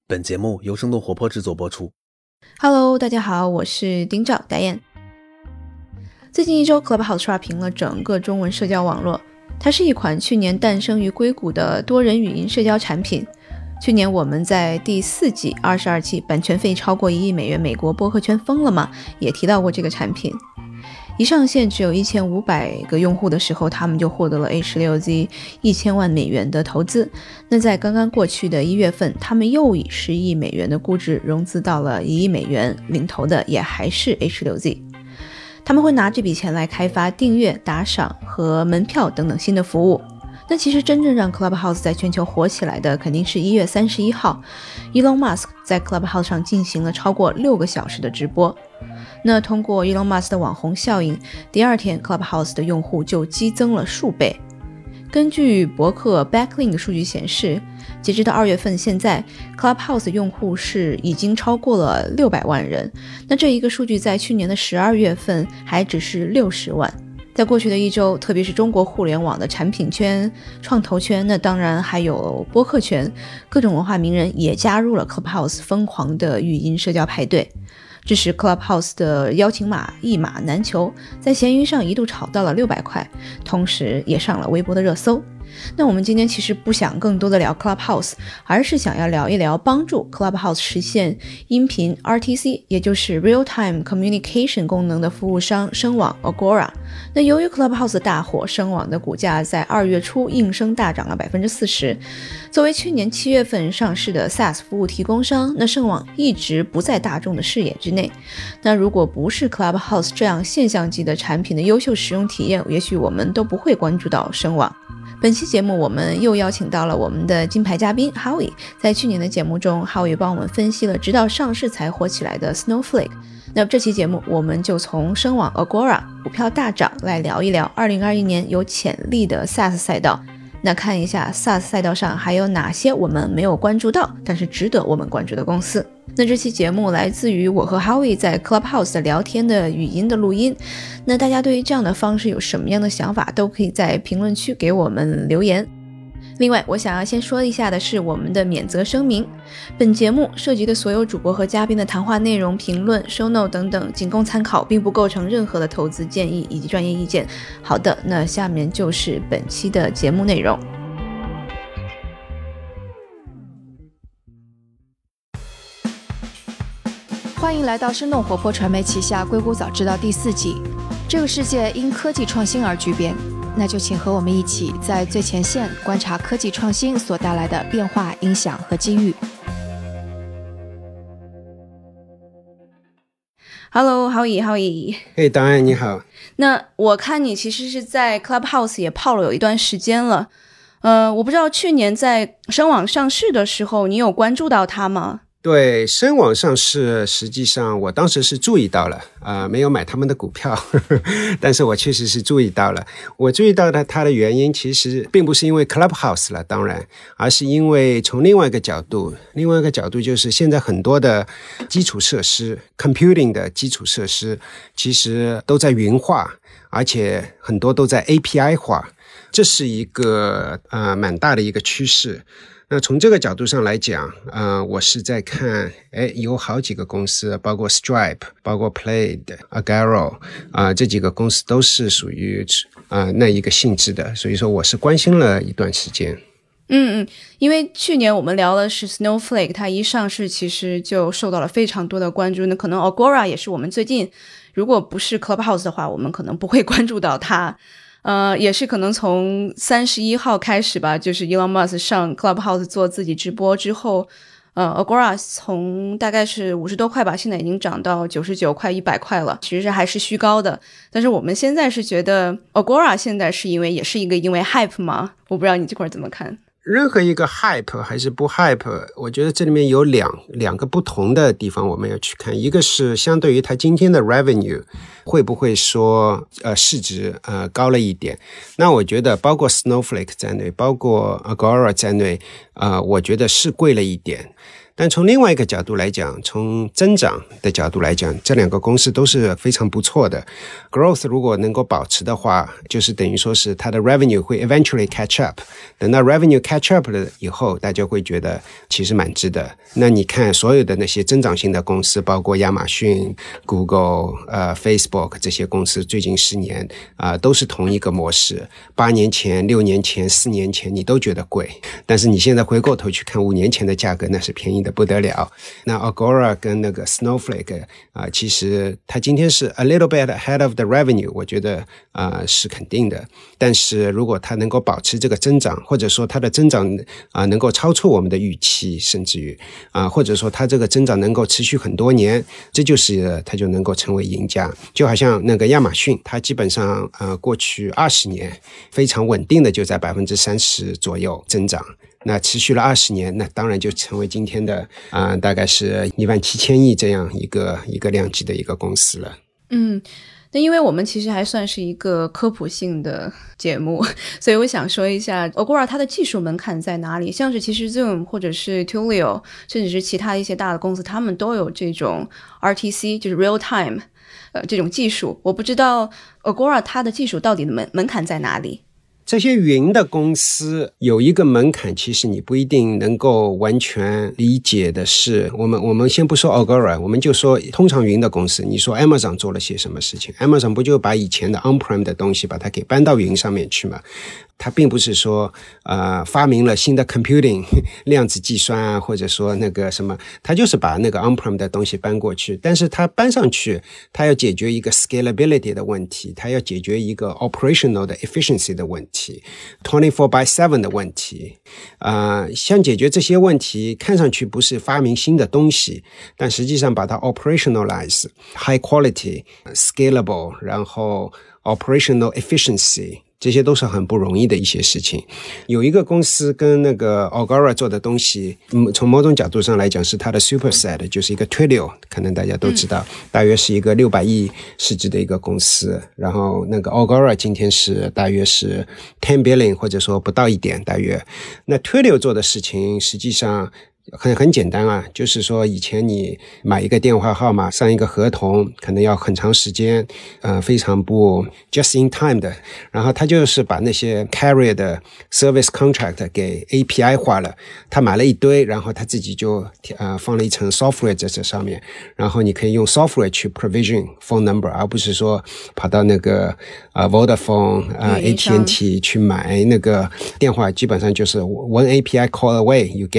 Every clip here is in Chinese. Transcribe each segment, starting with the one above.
本节目由生动活泼制作播出。 Hello， 大家好，我是丁照戴燕。最近一周 Clubhouse 刷屏了整个中文社交网络，它是一款去年诞生于硅谷的多人语音社交产品。去年我们在第4季22期版权费超过1亿美元美国播客圈疯了吗也提到过这个产品。一上线只有1500个用户的时候，他们就获得了 H6Z 1000万美元的投资。那在刚刚过去的1月份，他们又以10亿美元的估值融资到了1亿美元，领投的也还是 H6Z。他们会拿这笔钱来开发订阅、打赏和门票等等新的服务。那其实真正让 Clubhouse 在全球火起来的肯定是1月31号 Elon Musk 在 Clubhouse 上进行了超过6个小时的直播。那通过 Elon Musk 的网红效应，第二天 Clubhouse 的用户就激增了数倍。根据博客 Backlink 的数据显示，截止到2月份现在 Clubhouse 的用户是已经超过了600万人。那这一个数据在去年的12月份还只是60万。在过去的一周，特别是中国互联网的产品圈、创投圈，那当然还有播客圈，各种文化名人也加入了 Clubhouse 疯狂的语音社交派对。这时 Clubhouse 的邀请码一码难求，在闲鱼上一度炒到了600块，同时也上了微博的热搜。那我们今天其实不想更多的聊 Clubhouse， 而是想要聊一聊帮助 Clubhouse 实现音频 RTC， 也就是 Real Time Communication 功能的服务商声网 Agora。 那由于 Clubhouse 的大火，声网的股价在2月初应声大涨了 40%。 作为去年7月份上市的 SaaS 服务提供商，那声网一直不在大众的视野之内。那如果不是 Clubhouse 这样现象级的产品的优秀使用体验，也许我们都不会关注到声网。本期节目我们又邀请到了我们的金牌嘉宾 Howie。 在去年的节目中， Howie 帮我们分析了直到上市才火起来的 Snowflake。 那这期节目我们就从声网 Agora 股票大涨来聊一聊2021年有潜力的 SaaS 赛道。那看一下 SaaS 赛道上还有哪些我们没有关注到但是值得我们关注的公司。那这期节目来自于我和 Howie 在 Clubhouse 的聊天的语音的录音。那大家对于这样的方式有什么样的想法，都可以在评论区给我们留言。另外我想要先说一下的是我们的免责声明，本节目涉及的所有主播和嘉宾的谈话内容、评论、show note 等等仅供参考，并不构成任何的投资建议以及专业意见。好的，那下面就是本期的节目内容。 欢迎来到生动活泼传媒旗下硅谷早知道第4季。这个世界因科技创新而巨变，那就请和我们一起在最前线观察科技创新所带来的变化、影响和机遇。 Hello Howie。 嘿，当然你好。 那我看你其实是在 Clubhouse 也泡了有一段时间了。我不知道去年在声网上市的时候你有关注到它吗？ 对，声网上市，实际上我当时是注意到了，没有买他们的股票但是我确实是注意到了。我注意到它的原因其实并不是因为 Clubhouse 了，当然，而是因为从另外一个角度就是现在很多的基础设施 computing 的基础设施其实都在云化，而且很多都在 API 化，这是一个蛮大的一个趋势。那从这个角度上来讲，我是在看，有好几个公司，包括 Stripe， 包括 Plaid、Agora， 这几个公司都是属于那一个性质的，所以说我是关心了一段时间。 因为去年我们聊的是 Snowflake， 它一上市其实就受到了非常多的关注。那可能 Agora 也是我们最近，如果不是 Clubhouse 的话，我们可能不会关注到它。也是可能从31号开始吧，就是 Elon Musk 上 Clubhouse 做自己直播之后，Agora 从大概是50多块吧，现在已经涨到99块、100块了，其实还是虚高的。但是我们现在是觉得 Agora 现在是因为 hype 吗？我不知道你这块怎么看。 任何一个 hype 还是不 hype， 我觉得这里面有两个不同的地方我们要去看。一个是相对于它今天的 revenue 会不会说市值高了一点，那我觉得包括 Snowflake 在内，包括 Agora 在内，我觉得是贵了一点。 但从另外一个角度来讲，从增长的角度来讲，这两个公司都是非常不错的。Growth 如果能够保持的话，就是等于说是它的 revenue 会 eventually catch up。等到 revenue catch up 了以后，大家会觉得其实蛮值得。那你看所有的那些增长型的公司，包括亚马逊、Google、Facebook 这些公司，最近10年都是同一个模式。8年前、6年前、4年前你都觉得贵，但是你现在回过头去看5年前的价格，那是便宜的不得了。那 Agora 跟那个 Snowflake 其实它今天是 a little bit ahead of the revenue， 我觉得是肯定的。但是如果它能够保持这个增长，或者说它的增长能够超出我们的预期，甚至于或者说它这个增长能够持续很多年，这就是它就能够成为赢家。就好像那个亚马逊，它基本上过去20年非常稳定的就在 30% 左右增长。那持续了20年，那当然就成为今天的大概是17000亿这样一个量级的一个公司了。 那因为我们其实还算是一个科普性的节目，所以我想说一下 Agora 它的技术门槛在哪里。像是其实 Zoom 或者是 Twilio 甚至是其他一些大的公司，他们都有这种 RTC 就是 real time 这种技术。我不知道 Agora 它的技术到底的门槛在哪里。 这些云的公司有一个门槛，其实你不一定能够完全理解的是，我们先不说 Agora， 我们就说通常云的公司，你说 Amazon 做了些什么事情？ Amazon 不就把以前的 on-prem 的东西把它给搬到云上面去吗？它并不是说发明了新的 computing 量子计算啊，或者说那个什么，它就是把那个 on-prem 的东西搬过去，但是它搬上去，它要解决一个 scalability 的问题，它要解决一个 operational 的 efficiency 的问题， 24/7 的问题。像解决这些问题，看上去不是发明新的东西，但实际上把它 operationalize high quality scalable， 然后 operational efficiency，这些都是很不容易的一些事情。有一个公司跟那个 Agora 做的东西，从某种角度上来讲是它的 superset， 就是一个 Twilio， 可能大家都知道，大约是一个600亿市值的一个公司。然后那个 Agora 今天是大约是10 billion， 或者说不到1点大约。那 Twilio 做的事情实际上很简单啊，就是说以前你买一个电话号码上一个合同可能要很长时间，非常不 just in time 的，然后他就是把那些 carrier 的 service contract 给 API 化了，他买了一堆，然后他自己就放了一层 software 在这上面，然后你可以用 software 去 provision phone number， 而不是说跑到那个Vodafone AT&T 去买那个电话，基本上就是 one API call away you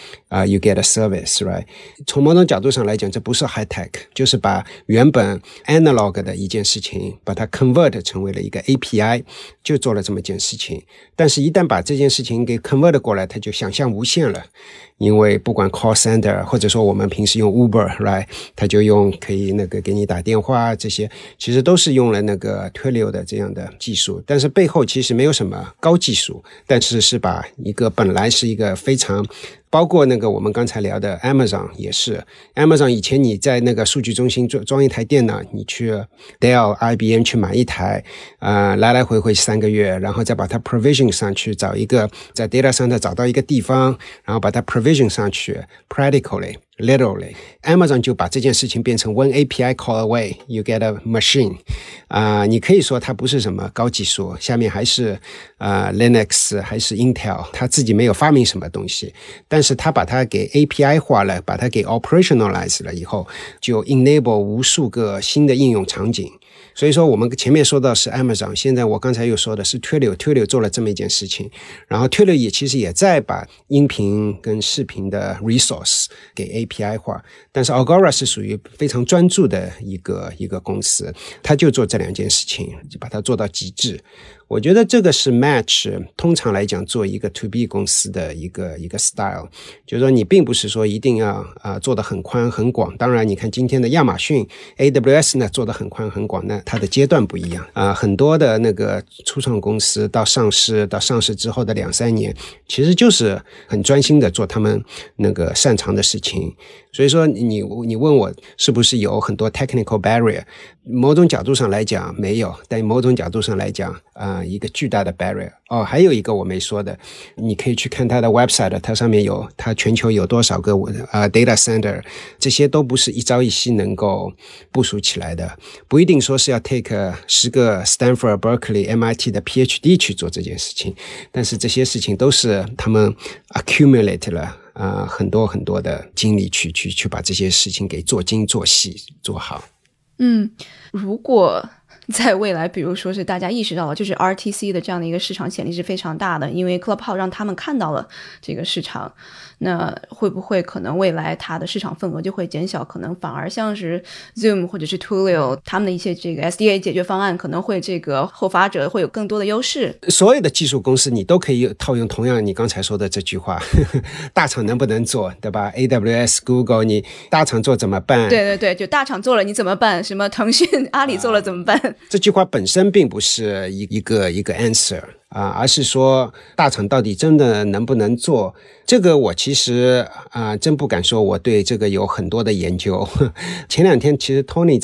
get a service, right? 从某种角度上来讲，这不是 high tech， 就是把原本 analog 的一件事情，把它 convert 成为了一个 API， 就做了这么一件事情。但是一旦把这件事情给 convert 过来，它就想象无限了。因为不管 call center， 或者说我们平时用 Uber， right？ 它就可以那个给你打电话，这些其实都是用了那个 Twilio 的这样的技术，但是背后其实没有什么高技术，但是把一个本来是一个非常包括那个我们刚才聊的 Amazon 也是 Amazon 以前你在那个数据中心装一台电脑，你去 Dell、IBM 去买一台来来回回3个月，然后再把它 provision 上去，找一个在 data center 找到一个地方，然后把它 provision 上去 practically literally Amazon 就把这件事情变成 one API call away you get a machine。 你可以说它不是什么高技术，下面还是Linux 还是 Intel， 它自己没有发明什么东西，但是它把它给 API 化了，把它给 operationalize 了以后，就 enable 无数个新的应用场景。所以说我们前面说到是 Amazon， 现在我刚才又说的是 Twilio 做了这么一件事情，然后 Twilio 其实也在把音频跟视频的 resource 给 API 化，但是 Agora 是属于非常专注的一个公司，它就做这2件事情，就把它做到极致。我觉得这个是 Match 通常来讲做一个 to B 公司的一个 style， 就是说你并不是说一定要做得很宽很广，当然你看今天的亚马逊 AWS 呢做得很宽很广，那它的阶段不一样很多的那个初创公司到上市之后的2-3年，其实就是很专心的做他们那个擅长的事情。所以说你问我是不是有很多 technical barrier， 某种角度上来讲没有，但某种角度上来讲一个巨大的 barrier。还有一个我没说的，你可以去看它的 website， 它上面有它全球有多少个data center， 这些都不是一朝一夕能够部署起来的，不一定说是要 take 10个 Stanford、Berkeley、MIT 的 PhD 去做这件事情，但是这些事情都是他们 accumulate 了很多很多的精力去把这些事情给做精做细做好。 如果在未来比如说是大家意识到了就是 RTC 的这样的一个市场潜力是非常大的，因为 Clubhouse 让他们看到了这个市场，那会不会可能未来它的市场份额就会减小，可能反而像是 Zoom 或者是 Twilio 他们的一些这个 SDA 解决方案可能会这个后发者会有更多的优势。 所有的技术公司你都可以套用同样你刚才说的这句话大厂能不能做，对吧？ AWS Google 你大厂做怎么办？ 对对对，就大厂做了你怎么办，什么腾讯阿里做了怎么办？ 这句话本身并不是一个 answer而是说大厂到底真的能不能做。这个我其实真不敢说我对这个有很多的研究前两天其实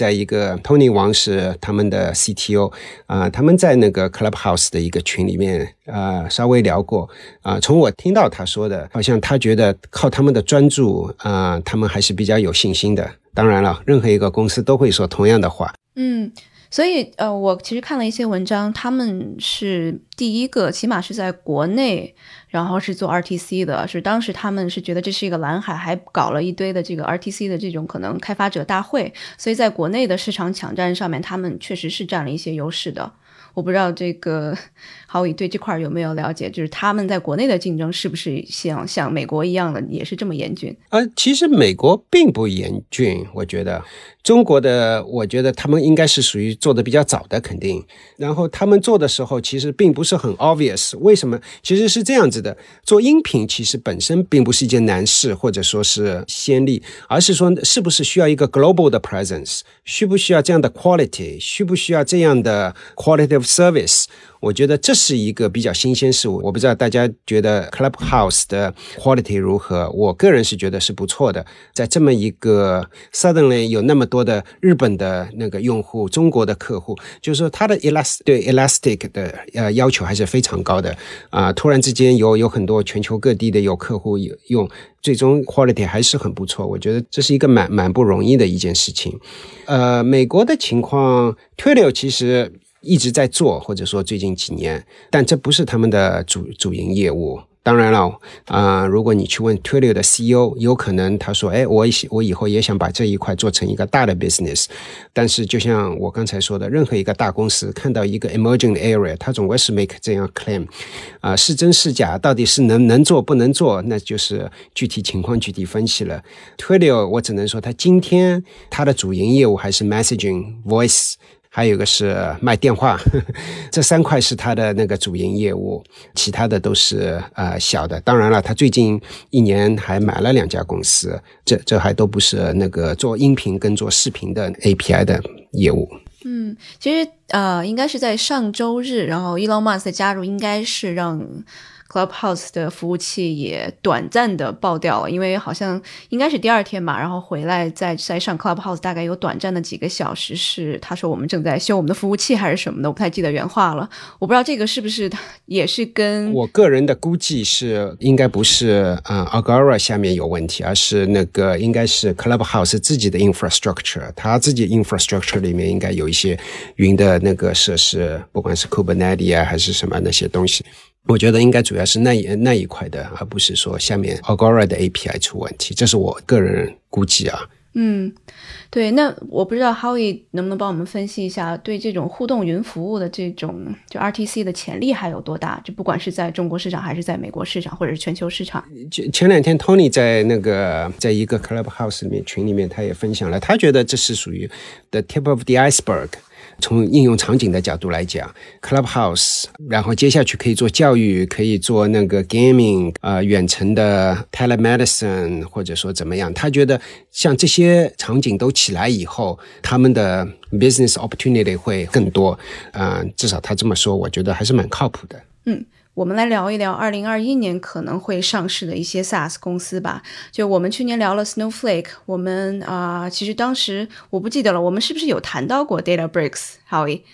Tony 王是他们的 CTO 他们在那个 Clubhouse 的一个群里面稍微聊过从我听到他说的，好像他觉得靠他们的专注他们还是比较有信心的。当然了，任何一个公司都会说同样的话。 所以我其实看了一些文章，他们是第一个起码是在国内然后是做 RTC 的，是当时他们是觉得这是一个蓝海，还搞了一堆的这个 RTC 的这种可能开发者大会，所以在国内的市场抢占上面他们确实是占了一些优势的。我不知道这个郝宇对这块有没有了解，就是他们在国内的竞争是不是像美国一样的也是这么严峻？ 其实美国并不严峻，我觉得中国的我觉得他们应该是属于做的比较早的肯定，然后他们做的时候其实并不是很 obvious。 为什么？其实是这样子的，做音频其实本身并不是一件难事或者说是先例，而是说是不是需要一个 global 的 presence， 需不需要这样的 quality， 需不需要这样的 quality of service。我觉得这是一个比较新鲜事物。我不知道大家觉得 Clubhouse 的 quality 如何，我个人是觉得是不错的。在这么一个 suddenly 有那么多的日本的那个用户，中国的客户，就是说它的 对 elastic 的要求还是非常高的突然之间有很多全球各地的有客户用，最终 quality 还是很不错。我觉得这是一个蛮不容易的一件事情。美国的情况 Twilio 其实一直在做，或者说最近几年，但这不是他们的主营业务。当然了如果你去问 Twilio 的 CEO， 有可能他说我以后也想把这一块做成一个大的 business。 但是就像我刚才说的，任何一个大公司看到一个 emerging area， 他总归是 make 这样 claim是真是假，到底是能做不能做，那就是具体情况具体分析了。 Twilio 我只能说他今天他的主营业务还是 messaging voice，还有一个是卖电话这3块是他的那个主营业务，其他的都是小的。当然了，他最近1年还买了2家公司，这还都不是那个做音频跟做视频的 API 的业务。 其实应该是在上周日，然后 Elon Musk 的加入应该是让Clubhouse 的服务器也短暂的爆掉了，因为好像应该是第2天吧，然后回来再上 Clubhouse 大概有短暂的几个小时，是他说我们正在修我们的服务器还是什么的，我不太记得原话了。我不知道这个是不是也是跟我个人的估计是应该不是Agora 下面有问题，而是那个应该是 Clubhouse 自己的 infrastructure， 他自己 infrastructure 里面应该有一些云的那个设施，不管是 Kubernetes 还是什么那些东西，我觉得应该主要是那一块的，而不是说下面 Agora 的 API 出问题，这是我个人估计对，那我不知道 Howie 能不能帮我们分析一下对这种互动云服务的这种就 RTC 的潜力还有多大，就不管是在中国市场还是在美国市场或者是全球市场。 前2天 Tony 在一个 Clubhouse 群里面他也分享了，他觉得这是属于 the tip of the iceberg，从应用场景的角度来讲 Clubhouse， 然后接下去可以做教育，可以做那个 gaming， 远程的 telemedicine， 或者说怎么样，他觉得像这些场景都起来以后，他们的 business opportunity 会更多至少他这么说，我觉得还是蛮靠谱的。 我们来聊一聊2021年可能会上市的一些 SaaS 公司吧。就我们去年聊了 Snowflake， 我们其实当时我不记得了，我们是不是有谈到过 Databricks， Howie？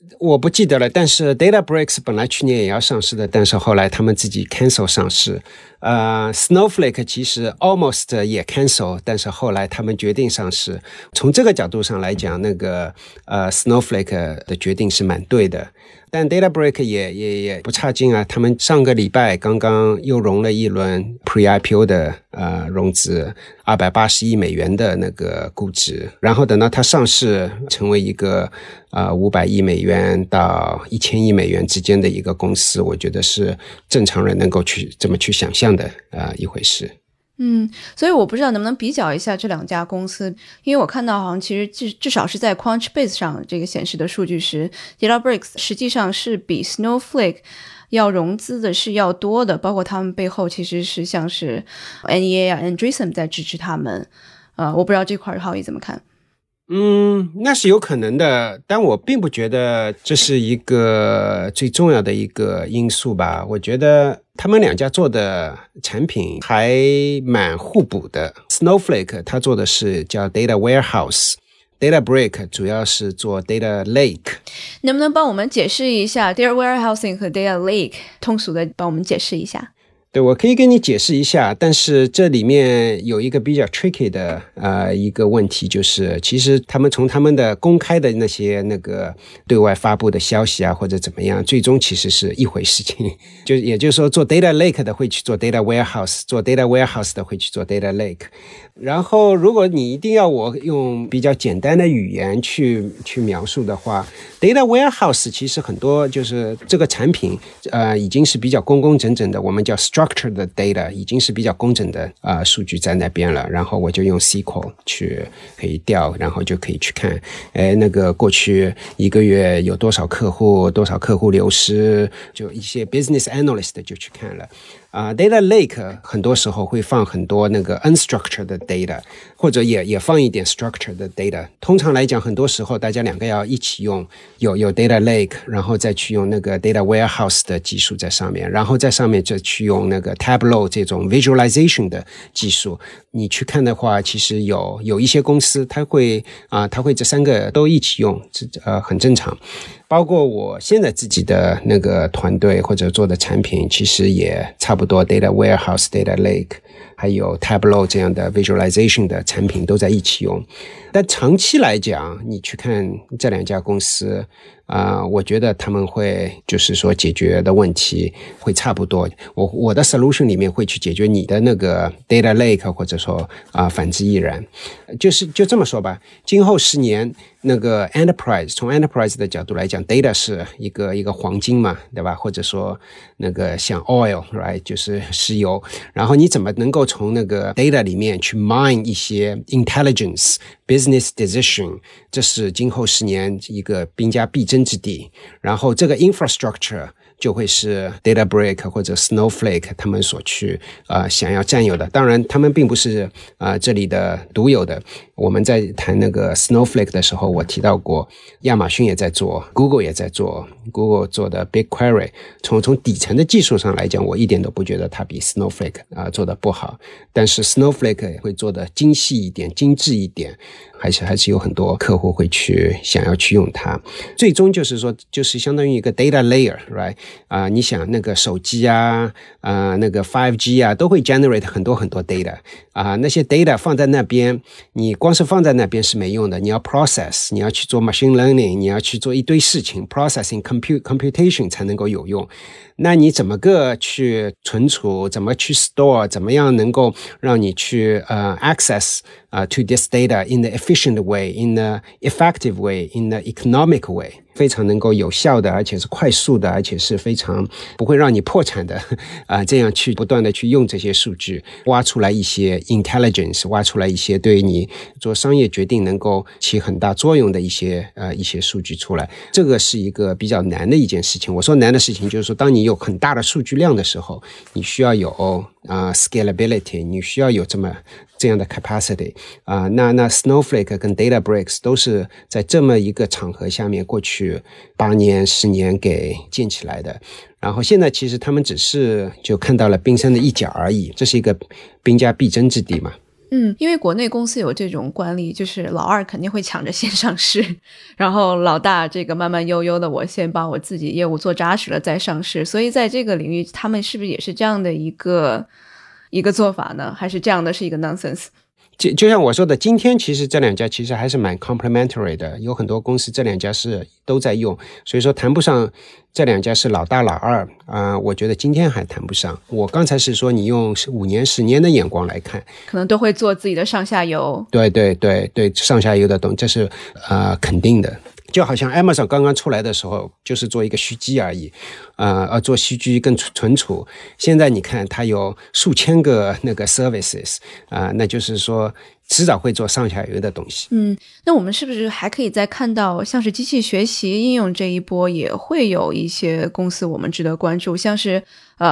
我不记得了，但是 Databricks 本来去年也要上市的，但是后来他们自己 cancel 上市。Snowflake 其实 almost 也 cancel， 但是后来他们决定上市。从这个角度上来讲，那个Snowflake 的决定是蛮对的。但 Databricks 也不差劲啊，他们上个礼拜刚刚又融了一轮 Pre-IPO 的融资，280亿美元的那个估值，然后等到它上市成为一个500亿美元到1000亿美元之间的一个公司，我觉得是正常人能够这么去想象的一回事。 所以我不知道能不能比较一下这两家公司，因为我看到好像其实至少是在 Crunchbase 上这个显示的数据是 Databricks 实际上是比 Snowflake 要融资的是要多的，包括他们背后其实是像是 NEA 啊 Andreessen 在支持他们。我不知道这块浩宇怎么看。 那是有可能的，但我并不觉得这是一个最重要的一个因素吧。我觉得他们两家做的产品还蛮互补的。Snowflake 它做的是叫 Data Warehouse， Databricks 主要是做 Data Lake。 能不能帮我们解释一下 Data Warehousing 和 Data Lake， 通俗的帮我们解释一下？ 对，我可以跟你解释一下，但是这里面有一个比较 tricky 的一个问题，就是其实他们从他们的公开的那个对外发布的消息啊或者怎么样，最终其实是一回事情。也就是说做 data lake 的会去做 data warehouse， 做 data warehouse 的会去做 data lake。 然后如果你一定要我用比较简单的语言去描述的话， data warehouse 其实很多就是这个产品已经是比较工整的，我们叫 structured data， 已经是比较工整的数据在那边了，然后我就用 SQL 去可以调，然后就可以去看那个过去一个月有多少客户流失，就一些 business analyst 就去看了。Data Lake 很多时候会放很多那个 unstructured data， 或者也放一点 structured data。 通常来讲很多时候大家两个要一起用，有 Data Lake， 然后再去用那个 Data Warehouse 的技术在上面，然后在上面再去用那个 Tableau 这种 visualization 的技术。你去看的话，其实有一些公司它会这三个都一起用，很正常。包括我现在自己的那个团队或者做的产品，其实也差不多 Data Warehouse、Data Lake 还有 Tableau 这样的 visualization 的产品都在一起用。但长期来讲，你去看这两家公司我觉得他们会就是说解决的问题会差不多。我的 solution 里面会去解决你的那个 data lake， 或者说反之亦然。就这么说吧，今后10年那个 enterprise， 从 enterprise 的角度来讲， data 是一个黄金嘛，对吧？或者说那个像 oil， right， 就是石油。然后你怎么能够从那个 data 里面去 mine 一些 intelligence business decision， 这是今后10年一个兵家必争之地。然后这个 infrastructure 就会是 Databricks 或者 Snowflake 他们所去想要占有的。当然他们并不是这里的独有的。我们在谈那个 Snowflake 的时候，我提到过亚马逊也在做， Google 也在做， Google 做的 BigQuery， 从底层的技术上来讲，我一点都不觉得它比 Snowflake 做的不好。但是 Snowflake 会做的精细一点，精致一点，还是有很多客户会想要去用它。最终就是说，就是相当于一个 data layer， right？ 你想那个手机那个 5G 都会 generate 很多 data， 那些 data 放在那边，你光是放在那边是没用的，你要 process， 你要去做 machine learning， 你要去做一堆事情 processing computation 才能够有用。那你怎么个去存储，怎么去 store， 怎么样能够让你去access to this data in the efficient way, in the effective way, in the economic way， 非常能够有效的，而且是快速的，而且是非常不会让你破产的这样去不断的去用这些数据，挖出来一些 intelligence， 挖出来一些对你做商业决定能够起很大作用的一些数据出来。这个是一个比较难的一件事情。我说难的事情就是说，当你有很大的数据量的时候，你需要有scalability， 你需要有这样的 capacity。那 Snowflake 跟 Databricks 都是在这么一个场合下面过去8年10年给建起来的。然后现在其实他们只是就看到了冰山的一角而已，这是一个兵家必争之地嘛。 因为国内公司有这种惯例，就是老二肯定会抢着先上市，然后老大这个慢慢悠悠的，我先把我自己业务做扎实了再上市。所以在这个领域，他们是不是也是这样的一个做法呢？还是这样的是一个 nonsense？ 就像我说的，今天其实这两家其实还是蛮 complementary 的，有很多公司这两家是都在用，所以说谈不上这两家是老大老二我觉得今天还谈不上。我刚才是说你用5年10年的眼光来看， 可能都会做自己的上下游。 对，上下游的东西，这是肯定的。就好像 Amazon 刚刚出来的时候就是做一个虚机而已，做虚机跟存储。现在你看它有数千个那个 services，那就是说迟早会做上下游的东西。 那我们是不是还可以再看到像是机器学习应用这一波也会有一些公司我们值得关注，像是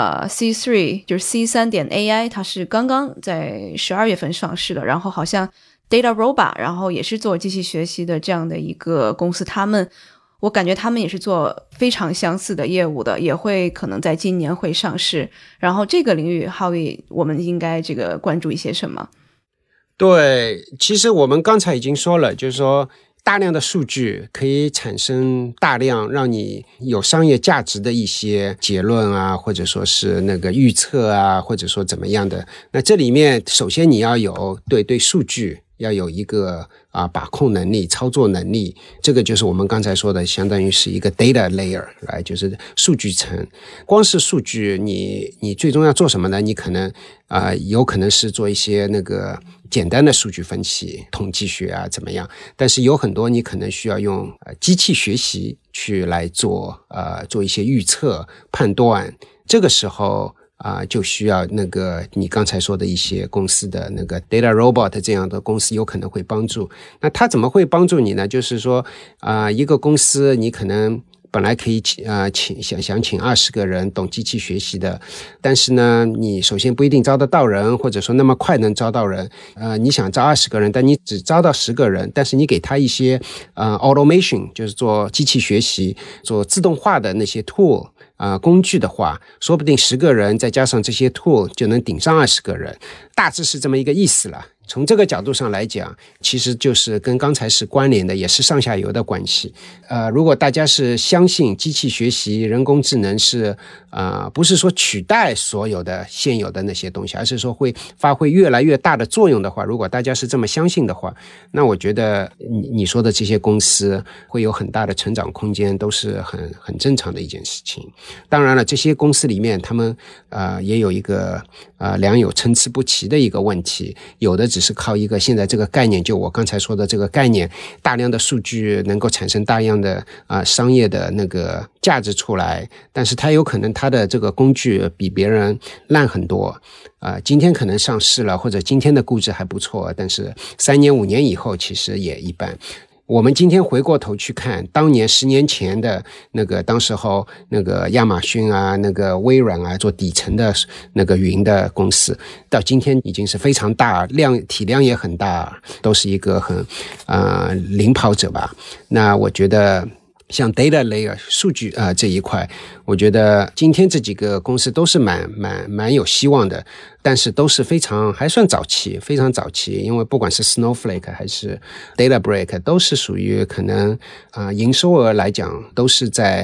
C3 就是 C3.AI， 它是刚刚在12月份上市的，然后好像DataRobot 然后也是做机器学习的这样的一个公司，我感觉他们也是做非常相似的业务的，也会可能在今年会上市。然后这个领域Howie我们应该这个关注一些什么？ 对，其实我们刚才已经说了，就是说大量的数据可以产生大量让你有商业价值的一些结论或者说是那个预测或者说怎么样的。那这里面首先你要有对数据要有一个把控能力、操作能力，这个就是我们刚才说的，相当于是一个 data layer， 就是数据层。光是数据，你最终要做什么呢？你可能有可能是做一些那个简单的数据分析、统计学怎么样？但是有很多你可能需要用机器学习去来做一些预测、判断。这个时候就需要那个你刚才说的一些公司的那个 DataRobot 这样的公司有可能会帮助。那它怎么会帮助你呢？就是说一个公司你可能本来可以想请20个人懂机器学习的，但是呢你首先不一定招得到人，或者说那么快能招到人。你想招20个人，但你只招到10个人，但是你给他一些automation， 就是做机器学习、做自动化的那些 tool工具的话，说不定10个人再加上这些 tool 就能顶上20个人，大致是这么一个意思了。从这个角度上来讲，其实就是跟刚才是关联的，也是上下游的关系。如果大家是相信机器学习、人工智能是不是说取代所有的现有的那些东西，而是说会发挥越来越大的作用的话，如果大家是这么相信的话，那我觉得你说的这些公司会有很大的成长空间，都是很正常的一件事情。当然了，这些公司里面他们也有一个良莠参差不齐的一个问题，有的只是靠一个现在这个概念，就我刚才说的这个概念，大量的数据能够产生大量的商业的那个价值出来，但是它有可能它的这个工具比别人烂很多今天可能上市了，或者今天的估值还不错，但是3年5年以后其实也一般。我们今天回过头去看当年10年前的那个当时候那个亚马逊那个微软做底层的那个云的公司，到今天已经是非常大，体量也很大，都是一个很领跑者吧。那我觉得像 data layer 数据这一块，我觉得今天这几个公司都是蛮有希望的，但是都是还算早期，非常早期。因为不管是 Snowflake 还是 Databricks 都是属于可能营收额来讲都是在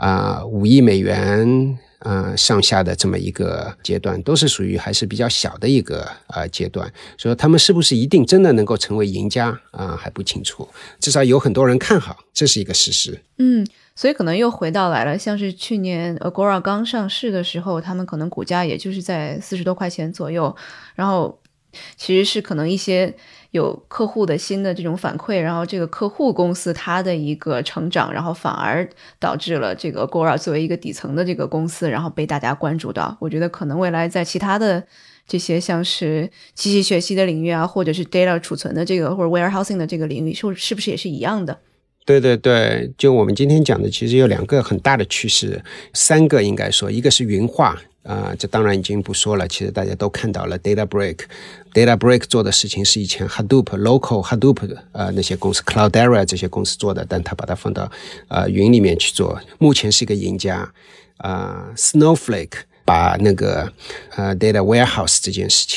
5亿美元上下的这么一个阶段，都是属于还是比较小的一个阶段，所以他们是不是一定真的能够成为赢家还不清楚，至少有很多人看好，这是一个事实。 所以可能又回到来了，像是去年 Agora 刚上市的时候，他们可能股价也就是在40多块钱左右，然后其实是可能一些有客户的新的这种反馈，然后这个客户公司它的一个成长，然后反而导致了这个 Agora 作为一个底层的这个公司，然后被大家关注到。我觉得可能未来在其他的这些像是机器学习的领域或者是 data 储存的这个或者 warehousing 的这个领域，是不是也是一样的？ 对，就我们今天讲的其实有2个很大的趋势，3个应该说，一个是云化这当然已经不说了，其实大家都看到了 Databricks 做的事情是以前 Local Hadoop 那些公司 Cloudera 这些公司做的，但他把它放到云里面去做，目前是一个赢家。Snowflake 把那个Data Warehouse 这件事情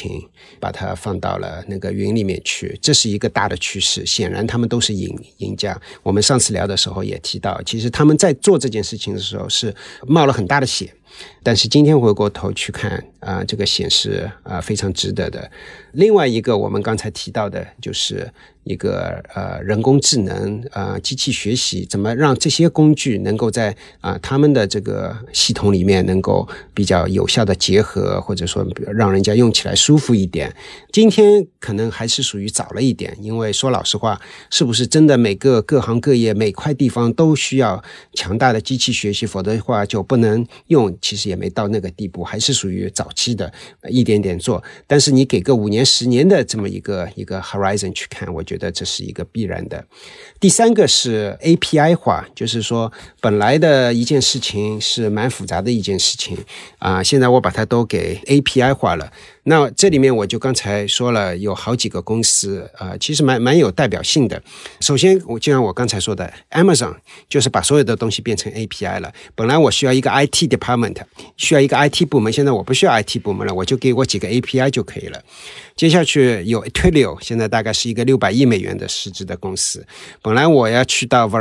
把它放到了那个云里面去，这是一个大的趋势，显然他们都是赢家。我们上次聊的时候也提到，其实他们在做这件事情的时候是冒了很大的险，但是今天回过头去看这个显示非常值得的。另外一个我们刚才提到的就是一个人工智能机器学习，怎么让这些工具能够在他们的这个系统里面能够比较有效的结合，或者说让人家用起来舒服一点。今天可能还是属于早了一点，因为说老实话，是不是真的每个各行各业每块地方都需要强大的机器学习，否则的话就不能用，其实也没到那个地步，还是属于早期的一点点做。但是你给个5年10年的这么一个 horizon 去看，我觉得这是一个必然的。第三个是 API 化，就是说本来的一件事情是蛮复杂的一件事情现在我把它都给 API 化了。那这里面我就刚才说了有好几个公司其实蛮有代表性的。首先就像我刚才说的 Amazon 就是把所有的东西变成 API 了。本来我需要一个 IT department， 需要一个 IT 部门，现在我不需要 IT 部门了，我就给我几个 API 就可以了。接下去有 Twilio， 现在大概是一个600亿美元的市值的公司。本来我要去到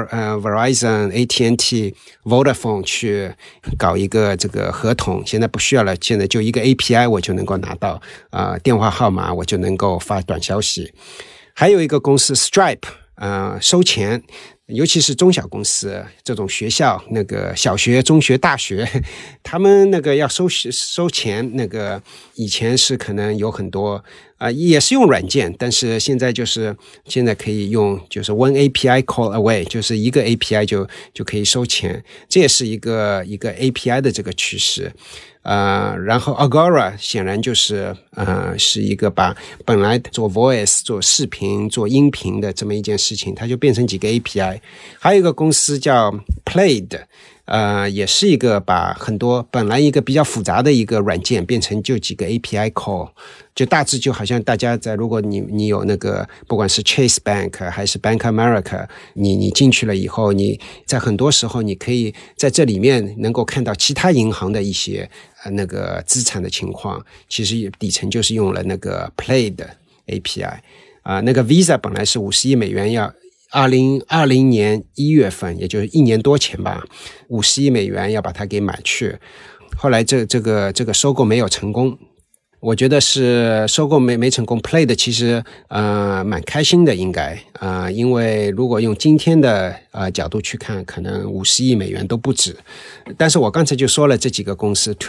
Verizon、AT&T、Vodafone 去搞一个这个合同，现在不需要了，现在就一个 API 我就能够拿到电话号码，我就能够发短消息。还有一个公司 Stripe， 收钱，尤其是中小公司这种学校，那个小学、中学、大学，他们那个要收钱，那个以前是可能有很多也是用软件，但是现在可以用就是 one API call away， 就是一个 API 就可以收钱，这也是一个 API 的这个趋势。然后 Agora 显然就是是一个把本来做 voice 做视频做音频的这么一件事情，它就变成几个 API。 还有一个公司叫 Plaid，也是一个把很多本来一个比较复杂的一个软件变成就几个 API call， 就大致就好像大家在如果你有那个不管是 Chase Bank 还是 Bank America， 你进去了以后，你在很多时候你可以在这里面能够看到其他银行的一些那个资产的情况，其实底层就是用了那个 Play 的 API。那个 Visa 本来是50亿美元要2020年1月份，也就是1年多前吧，50亿美元要把它给买去，后来这个收购没有成功。我觉得是收购没成功 ，Play 的其实蛮开心的应该因为如果用今天的角度去看，可能50亿美元都不止。但是我刚才就说了这几个公司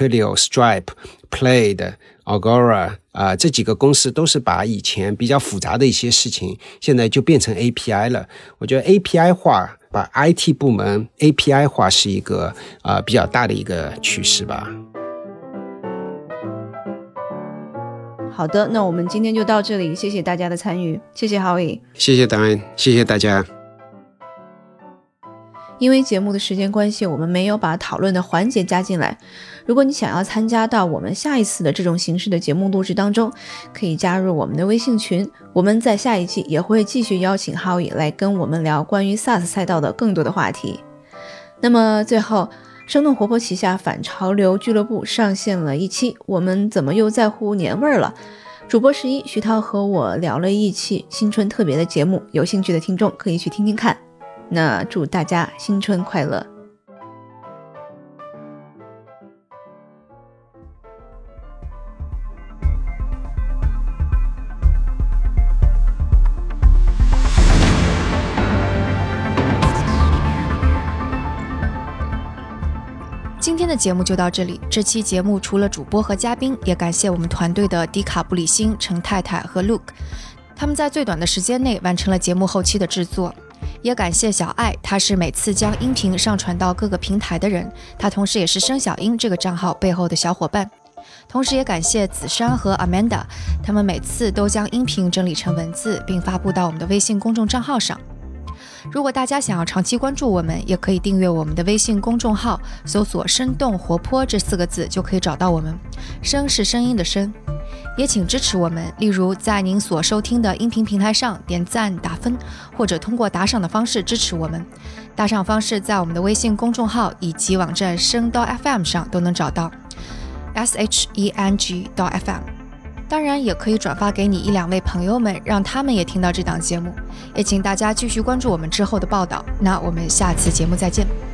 Twilio、Stripe、Play、Agora 这几个公司都是把以前比较复杂的一些事情现在就变成 API 了。我觉得 API 化把 IT 部门 API 化是一个比较大的一个趋势吧。 好的，那我们今天就到这里，谢谢大家的参与，谢谢Howie， 谢谢Diane，谢谢大家。 因为节目的时间关系，我们没有把讨论的环节加进来。如果你想要参加到我们下一次的这种形式的节目录制当中，可以加入我们的微信群，我们在下一季也会继续邀请Howie来跟我们聊关于 SaaS 赛道的更多的话题。那么最后，生动活泼旗下反潮流俱乐部上线了一期我们怎么又在乎年味儿了，主播11徐涛和我聊了一期新春特别的节目，有兴趣的听众可以去听听看。那祝大家新春快乐。 今天的节目就到这里。这期节目除了主播和嘉宾，也感谢我们团队的迪卡布里辛、陈太太和 Luke， 他们在最短的时间内完成了节目后期的制作。也感谢小爱，她是每次将音频上传到各个平台的人，她同时也是生小英这个账号背后的小伙伴。同时也感谢子珊和 Amanda， 他们每次都将音频整理成文字并发布到我们的微信公众账号上。如果大家想要长期关注我们，也可以订阅我们的微信公众号，搜索生动活泼这4个字就可以找到我们。声是声音的声。也请支持我们，例如在您所收听的音频平台上点赞打分，或者通过打赏的方式支持我们。打赏方式在我们的微信公众号以及网站声.fm 上都能找到 sheng.fm。 当然也可以转发给你1-2位朋友们，让他们也听到这档节目。也请大家继续关注我们之后的报道。那我们下次节目再见。